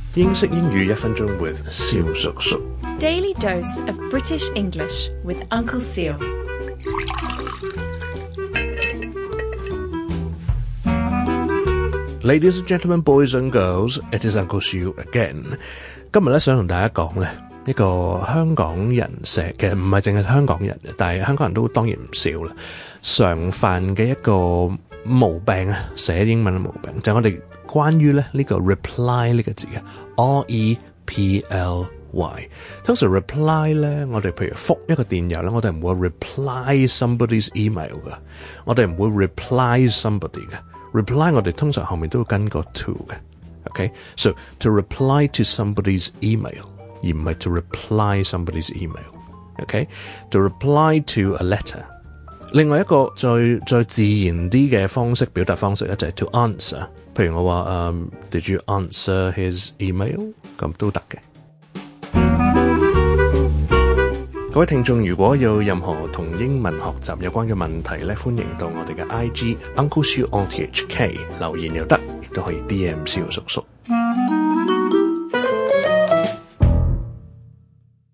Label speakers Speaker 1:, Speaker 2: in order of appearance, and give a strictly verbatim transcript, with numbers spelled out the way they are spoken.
Speaker 1: 英式英語一分鐘 with 蕭叔叔。
Speaker 2: Daily dose of British English with Uncle Seal.
Speaker 1: Ladies and gentlemen, boys and girls, it is Uncle Seal again. 今日咧想同大家講咧一個香港人寫嘅，唔係淨係香港人嘅，但係香港人都當然唔少啦，常犯嘅一個毛病啊，寫英文嘅毛病就係、是、我哋關於咧呢個 reply 呢個字嘅 R E P L Y。通常 reply 咧，我哋譬如覆一個電郵咧，我哋唔會 reply somebody's email 噶，我哋唔會 reply somebody 嘅。reply 我哋通常後面都會跟個 to 嘅。Okay, so to reply to somebody's email 而唔係 to reply somebody's email. Okay, to reply to a letter. 另外一個最最自然啲嘅方式表達方式咧就係 to answer。譬如我話、um, Did you answer his email？ 咁都得嘅。各位聽眾，如果有任何同英文學習有關嘅問題咧，歡迎到我哋嘅 I G Uncle Siu on T H K 留言又得，亦都可以 D M 蕭叔叔。